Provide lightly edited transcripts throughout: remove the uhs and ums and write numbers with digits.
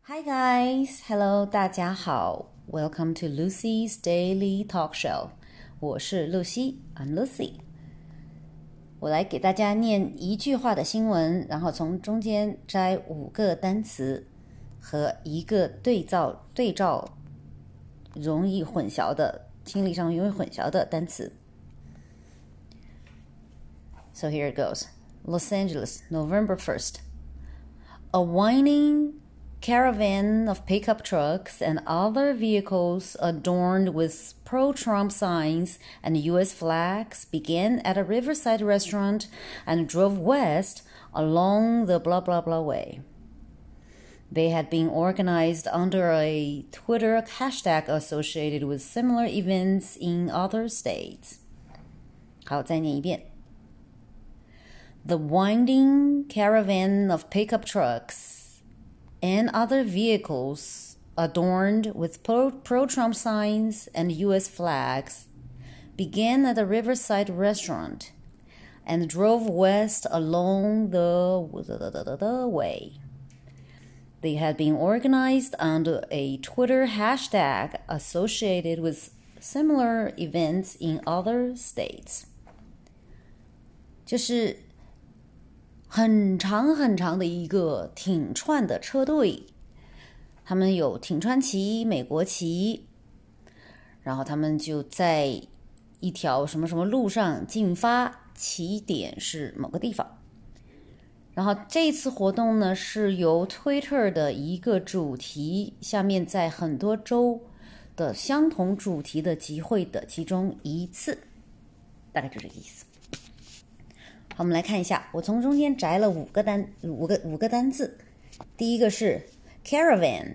Hi guys, hello， 大家好 ，Welcome to Lucy's Daily Talk Show。我是露西 ，I'm Lucy。我来给大家念一句话的新闻，然后从中间摘5个单词和一个对照容易混淆的、听力上容易混淆的单词。So here it goes. Los Angeles, November 1st. A whining caravan of pickup trucks and other vehicles adorned with pro-Trump signs and U.S. flags began at a riverside restaurant and drove west along the blah blah blah way. They had been organized under a Twitter hashtag associated with similar events in other states. 好，再念一遍。The winding caravan of pickup trucks and other vehicles adorned with pro-Trump signs and U.S. flags began at a riverside restaurant and drove west along the way. They had been organized under a Twitter hashtag associated with similar events in other states. 就是很长很长的一个挺串的车队，他们有挺川旗、美国旗，然后他们就在一条什么什么路上进发，起点是某个地方。然后这次活动呢，是由 Twitter 的一个主题下面在很多州的相同主题的集会的其中一次，大概就这个意思。好，我们来看一下，我从中间摘了五个单字。第一个是 caravan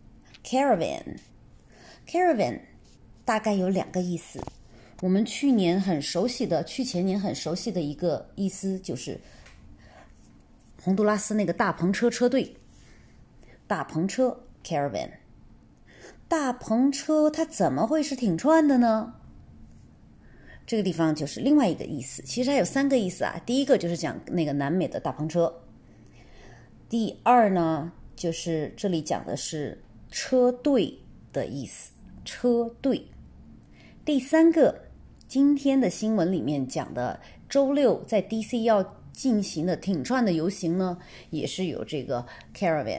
大概有2个意思。我们去前年很熟悉的一个意思就是洪都拉斯那个大篷车车队，大篷车 caravan。大篷车它怎么会是挺串的呢？这个地方就是另外一个意思，其实还有3个意思啊。第一个就是讲那个南美的大篷车，第二呢，就是这里讲的是车队的意思，车队。第3个，今天的新闻里面讲的周6在 DC 要进行的挺串的游行呢，也是有这个 caravan。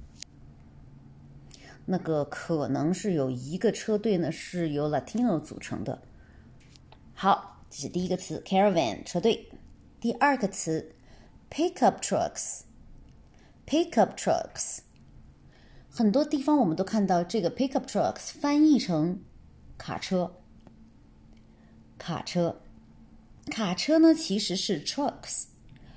那个可能是有一个车队呢是由 Latino 组成的。好，这是第一个词 caravan 车队。第二个词 pickup trucks。 很多地方我们都看到这个 pickup trucks 翻译成卡车呢其实是 trucks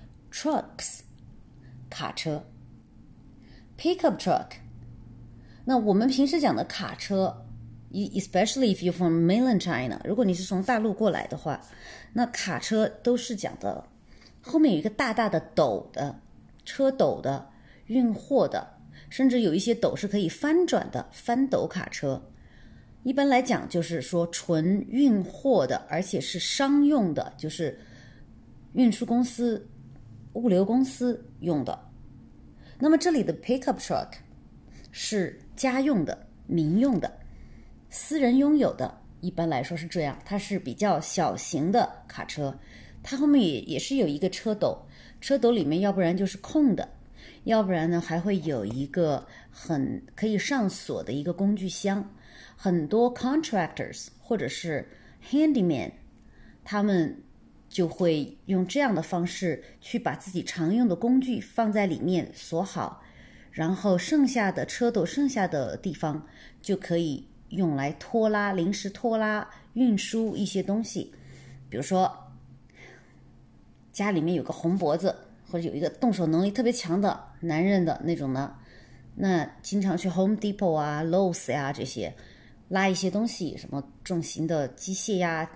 卡车 pickup truck。 那我们平时讲的卡车，especially if you're from mainland China， 如果你是从大陆过来的话，那卡车都是讲的后面有一个大大的斗的，车斗的，运货的，甚至有一些斗是可以翻转的，翻斗卡车。一般来讲就是说纯运货的，而且是商用的，就是运输公司、物流公司用的。那么这里的 pickup truck 是家用的、民用的、私人拥有的，一般来说是这样，它是比较小型的卡车，它后面也是有一个车斗，车斗里面要不然就是空的，要不然呢还会有一个很可以上锁的一个工具箱。很多 contractors 或者是 handyman 他们就会用这样的方式去把自己常用的工具放在里面锁好，然后剩下的车斗剩下的地方就可以用来拖拉、临时拖拉、运输一些东西。比如说家里面有个红脖子，或者有一个动手能力特别强的男人的那种呢，那经常去 Home Depot 啊、Lowe's 呀这些拉一些东西，什么重型的机械呀，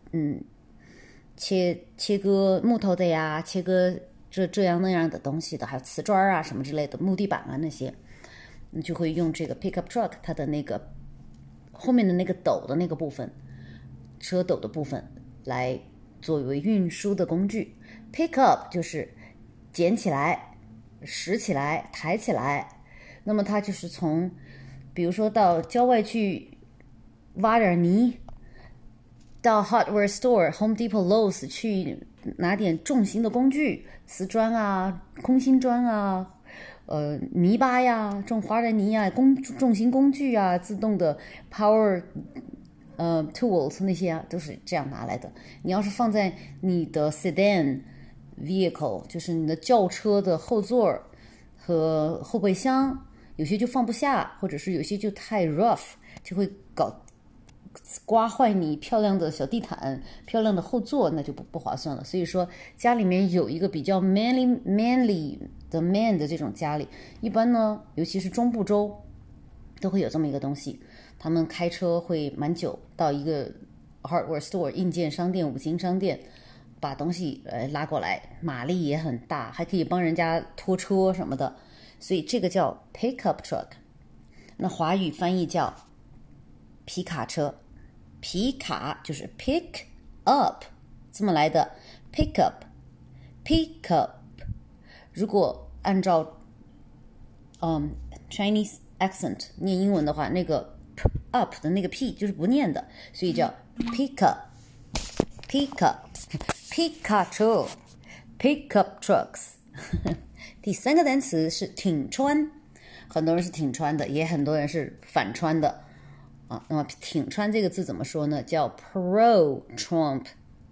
切割木头的呀，切割这样那样的东西的，还有瓷砖啊什么之类的，木地板啊那些，你就会用这个 pickup truck 它的那个后面的那个斗的那个部分，车斗的部分来作为运输的工具。 pick up 就是捡起来、拾起来、抬起来， 那么它就是从，比如说到郊外去挖点泥，到 hardware store Home Depot Lowe's 去拿点重型的工具，瓷砖啊、空心砖啊、泥巴呀、种花的泥啊、重型工具啊、自动的 power tools 那些啊，都是这样拿来的。你要是放在你的 sedan vehicle， 就是你的轿车的后座和后备箱，有些就放不下，或者是有些就太 rough， 就会刮坏你漂亮的小地毯、漂亮的后座，那就不划算了。所以说，家里面有一个比较 manly 的 man 的这种家里，一般呢，尤其是中部州，都会有这么一个东西。他们开车会蛮久，到一个 hardware store 硬件商店、五金商店，把东西拉过来，马力也很大，还可以帮人家拖车什么的。所以这个叫 pickup truck。那华语翻译叫皮卡车。皮卡就是 pick up 这么来的 pick up。 如果按照Chinese accent 念英文的话，那个 up 的那个 p 就是不念的，所以叫 pick up。 皮卡车 pickup trucks 第三个单词是挺穿，很多人是挺穿的，也很多人是反穿的那么挺穿这个字怎么说呢？叫 pro trump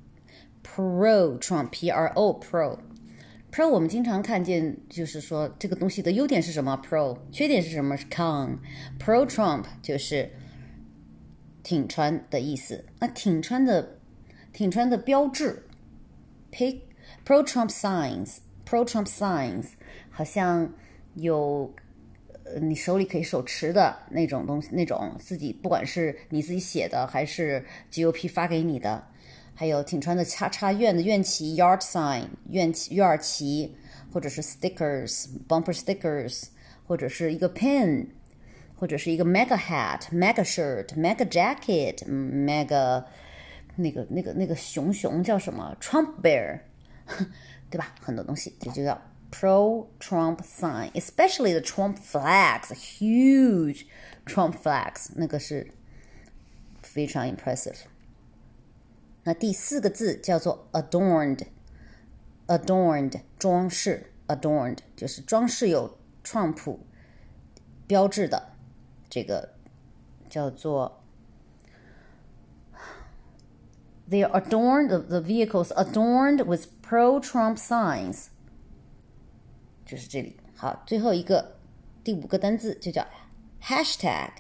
pro。 我们经常看见，就是说这个东西的优点是什么 pro， 缺点是什么是 con。 pro trump 就是挺穿的意思。那挺穿的标志 pro trump signs 好像有你手里可以手持的那种东西，那种自己不管是你自己写的还是 GOP 发给你的，还有挺穿的插院的院旗 yard sign 院旗，或者是 stickers bumper stickers， 或者是一个 pin， 或者是一个 mega hat mega shirt mega jacket mega 那个熊叫什么 Trump bear 对吧？很多东西这就叫pro-Trump sign, especially the Trump flags, huge Trump flags， 那个是非常 impressive。 那第四个字叫做 adorned， 装饰 adorned 就是装饰有川普标志的，这个叫做They are adorned, the vehicles adorned with pro-Trump signs，就是这里。好，最后一个第五个单字就叫 hashtag。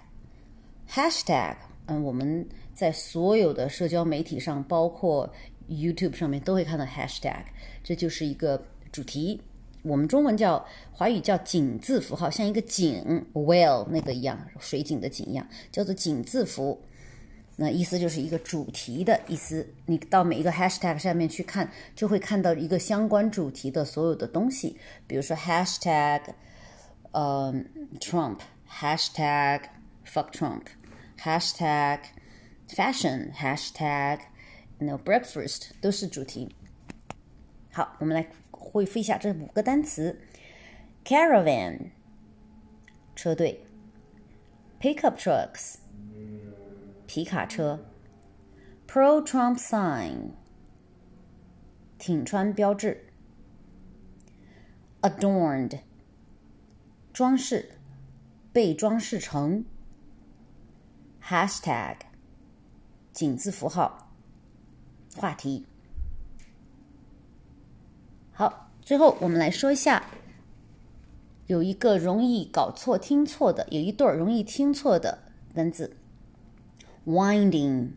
我们在所有的社交媒体上，包括 YouTube 上面都会看到 hashtag， 这就是一个主题。我们中文华语叫井字符号，像一个井 whale 那个一样，水井的井一样，叫做井字符。那意思就是一个主题的意思，你到每一个 hashtag 上面去看，就会看到一个相关主题的所有的东西，比如说 hashtag Trump， hashtag fuck Trump， hashtag fashion， hashtag breakfast， 都是主题。好，我们来恢复一下这五个单词。 caravan 车队， pickup trucks皮卡车， pro-Trump sign 挺穿标志， adorned 装饰，被装饰成， hashtag 井字符号话题。好，最后我们来说一下，有一个容易搞错听错的，有一对容易听错的单字，Winding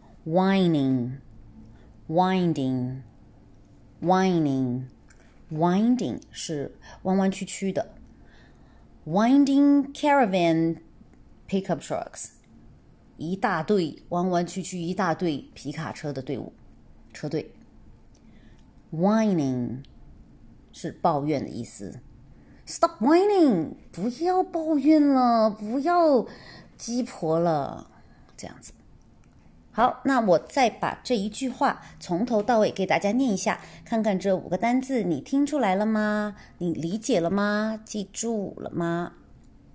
是弯弯曲曲的。Winding caravan pickup trucks， 一大队弯弯曲曲，一大队皮卡车的车队。Whining 是抱怨的意思。Stop whining， 不要抱怨了，不要鸡婆了，这样子。好，那我再把这一句话从头到尾给大家念一下，看看这五个单字你听出来了吗？你理解了吗？记住了吗？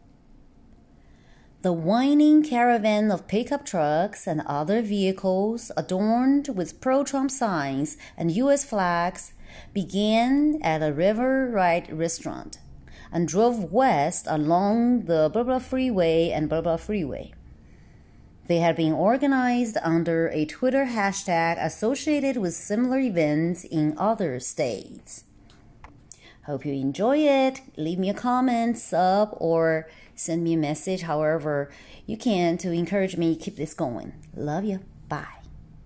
The whining caravan of pickup trucks and other vehicles adorned with pro-Trump signs and U.S. flags began at a River Ride restaurant and drove west along the blah blah freeway and blah blah freeway. They had been organized under a Twitter hashtag associated with similar events in other states. Hope you enjoy it. Leave me a comment, sub, or send me a message, however you can, to encourage me to keep this going. Love you. Bye.